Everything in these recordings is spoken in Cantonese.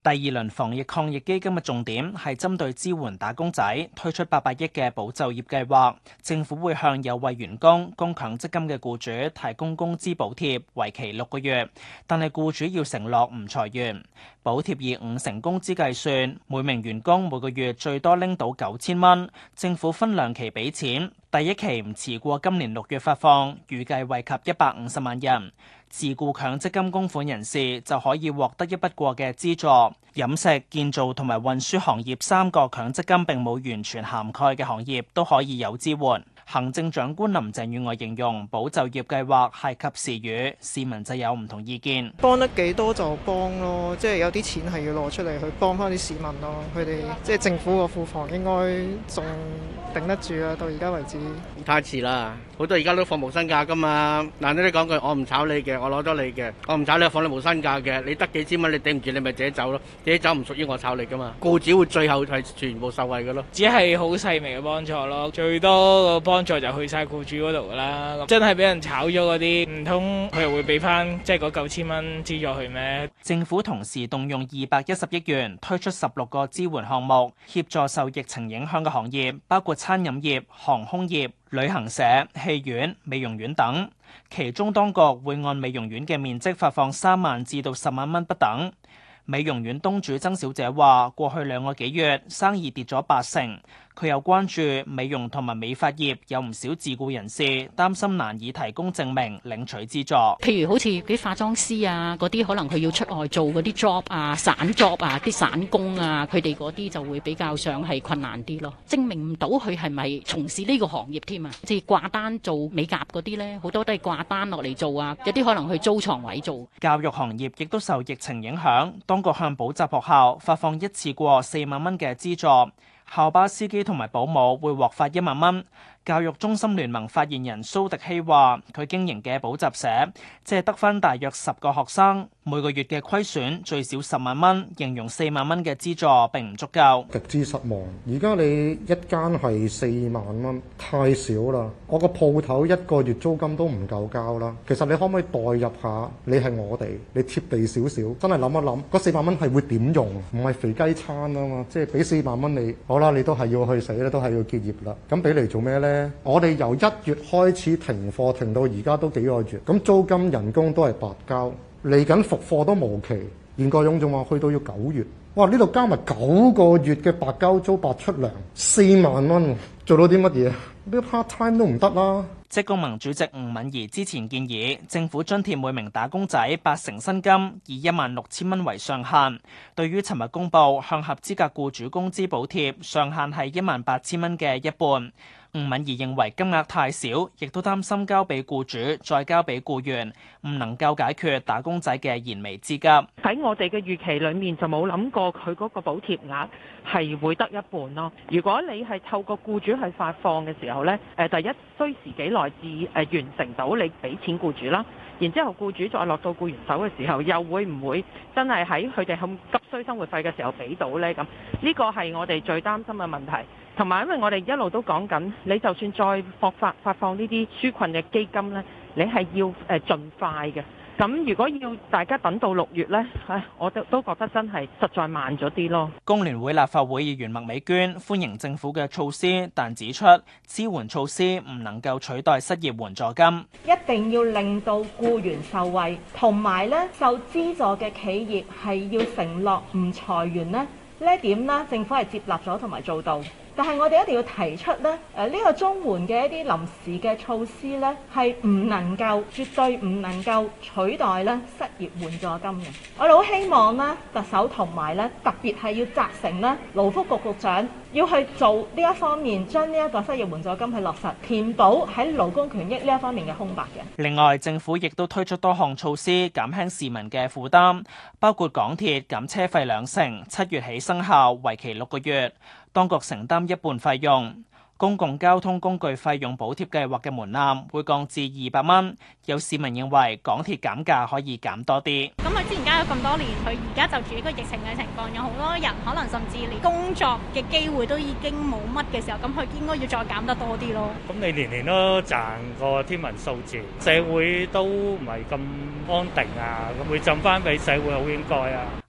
第二輪防疫抗疫基金嘅重點係針對支援打工仔，推出800億嘅保就業計劃。政府會向有為員工供強積金嘅僱主提供工資補貼，為期6個月，但係僱主要承諾唔裁員。補貼以50%工資計算，每名員工每個月最多拎到9000蚊。政府分2期俾錢，第一期唔遲過今年6月發放，預計惠及150萬人。自僱強積金供款人士就可以獲得一筆過嘅資助。飲食、建造同埋運輸行業3個強積金並冇完全涵蓋嘅行業都可以有支援。行政長官林鄭月娥形容保就業計劃係及時雨，市民就有唔同意見。 幫得幾多就幫咯，即係有啲錢係要攞出嚟去幫翻啲市民咯。佢哋即係政府個庫房應該仲頂得住啊！到而家為止太遲啦，好多而家都放無薪假噶嘛。難聽啲講句，我唔炒你嘅，我攞咗你嘅，我唔炒你，放你無薪假嘅，你得幾千蚊，你頂唔住，你咪自己走咯。自己走唔屬於我炒你噶嘛。僱主會最後係全部受惠嘅咯。 只係好細微嘅幫助咯，最多個幫助就去晒僱主嗰度噶啦。真係俾人炒咗嗰啲，唔通佢又會俾翻即係嗰9000蚊資助佢咩？ 政府同時動用210億元推出16個支援項目，協助受疫情影響嘅行業，包括餐飲業、航空業、旅行社、戲院、美容院等。其中當局會按美容院嘅面積發放3萬至到10萬蚊不等。美容院東主曾小姐話：過去2個幾月生意跌咗80%。佢又關注美容同埋美髮業有唔少自僱人士，擔心難以提供證明領取資助。 譬如好似啲化妝師啊，嗰啲可能佢要出外做嗰啲 job 啊、散 job 啊、啲散工啊，佢哋嗰啲就會比較上係困難啲咯。證明唔到佢係咪從事呢個行業添啊？即係掛單做美甲嗰啲呢，好多都係掛單落嚟做啊。有啲可能去租床位做。 教育行業亦都受疫情影響，當局向補習學校發放一次過4萬蚊嘅資助。校巴司機同埋保姆會獲發1萬蚊。教育中心聯盟發言人蘇迪希話：佢經營嘅補習社即係得返大約10個學生，每個月嘅虧損最少10萬蚊，形容4萬蚊嘅資助並唔足夠， 極之失望。而家你一間係4萬蚊，太少啦！我個鋪頭1個月租金都唔夠交啦。其實你可唔可以代入下？你係我哋，你貼地少少，真係諗一諗，嗰4萬蚊係會點用？唔係肥雞餐啊嘛，即係俾4萬蚊你，好啦，你都係要去死啦，都係要結業啦。咁俾嚟做咩呢？我哋由1月開始停課，停到而家都幾個月，咁租金人工都係白交，嚟緊復課都無期。袁國勇仲話去到要9月，哇！呢度加埋9個月嘅白交租白出糧，4萬蚊，做到啲乜嘢？呢 part time 都唔得啦。 職工盟主席吳敏儀之前建議政府津貼每名打工仔80%薪金，以16000蚊為上限。對於尋日公布向合資格僱主工資補貼上限係18000蚊嘅一半，吳敏儀認為金額太少，亦都擔心交俾僱主再交俾僱員，唔能夠解決打工仔嘅燃眉之急。 喺我哋嘅預期裏面就冇諗過佢嗰個補貼額係會得一半咯。如果你係透過僱主去發放嘅時候呢，第一需時幾耐至完成到你俾錢僱主啦，然之後僱主再落到僱員手嘅時候，又會唔會真係喺佢哋咁急需生活費嘅時候俾到呢？咁呢個係我哋最擔心嘅問題。同埋因為我哋一路都講緊，你就算再發放呢啲紓困嘅基金呢，你係要盡快嘅。咁如果要大家等到6月呢，我都覺得真係實在慢咗啲咯。 工聯會立法會議員麥美娟歡迎政府嘅措施，但指出支援措施唔能夠取代失業援助金， 一定要令到僱員受惠，同埋呢受資助嘅企業係要承諾唔裁員呢一點呢，政府係接納咗同埋做到。但係我哋一定要提出呢個綜援嘅一啲臨時嘅措施呢，係唔能夠，絕對唔能夠取代呢失業援助金嘅。我哋好希望呢特首同埋呢特別係要責成呢勞福局局長要去做呢一方面，將呢一個失業援助金去落實，填補喺勞工權益呢一方面嘅空白嘅。 另外，政府亦都推出多項措施減輕市民嘅負擔，包括港鐵減車費2成，7月起生效，為期6個月。當局承擔一半費用，公共交通工具費用補貼計劃嘅門檻會降至200蚊。有市民認為港鐵減價可以減多啲。 咁佢之前加咗咁多年，佢而家就住呢個疫情嘅情況，有好多人可能甚至連工作嘅機會都已經冇乜嘅時候，咁佢應該要再減得多啲咯。 咁你年年都賺個天文數字，社會都唔係咁安定啊，咁會浸翻俾社會好應該啊。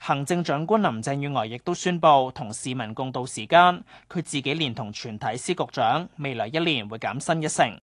行政長官林鄭月娥亦都宣布同市民共度時間，佢自己連同全體司局長，未來1年會減薪1成。